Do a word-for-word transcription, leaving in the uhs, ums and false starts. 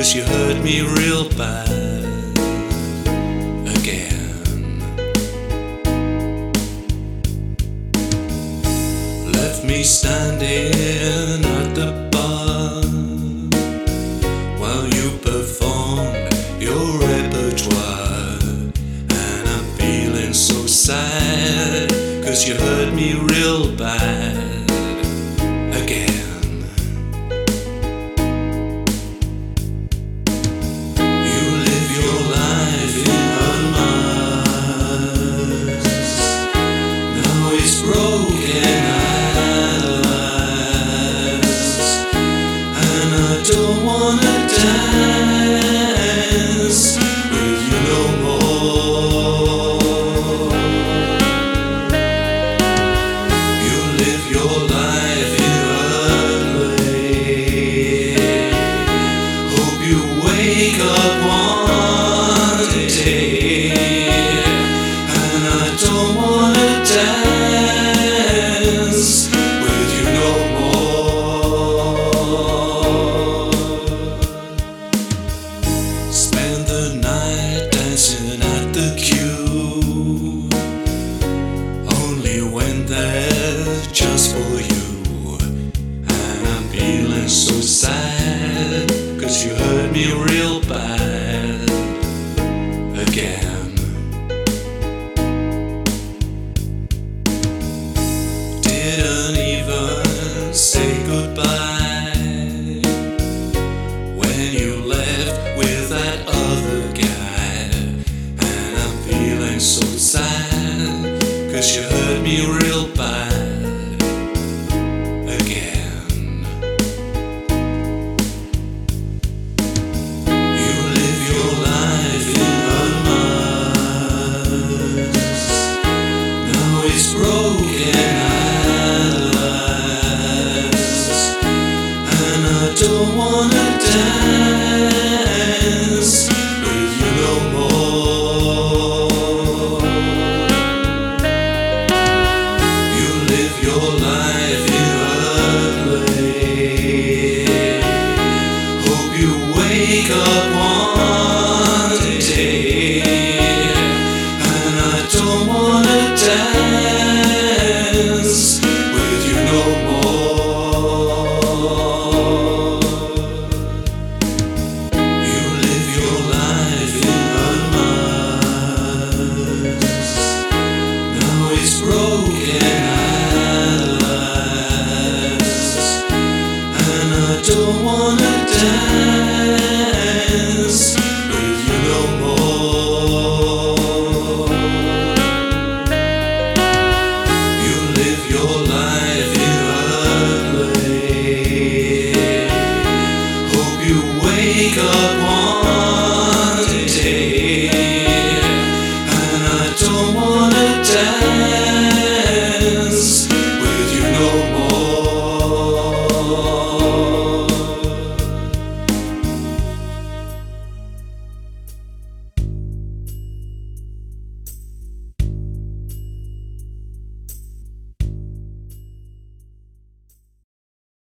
'cause you hurt me real bad again. Left me standing at the bar while you performed your repertoire, and I'm feeling so sad 'cause you hurt me real bad again. You live your life in her eyes, now it's broken at last, and I don't wanna dance with you no more. You live your life in her way. Hope you wake up one day, and I don't wanna dance with you no more. Spend the night dancing at the queue, only when they're just for you, and I'm feeling so sad 'cause you hurt me real bad again. Didn't even say goodbye when you left with that other guy, and I'm feeling so sad 'cause you hurt me real bad again. You live your life in her eyes, now it's broken at last, and I don't wanna dance with you no more. You live your life in her way. Hope you wake up one day, and I don't wanna dance with you no more. You live your life in her eyes, now it's broken at last, and I don't wanna dance with you no more. You live your life in her way. Hope you wake up one day, and I don't wanna dance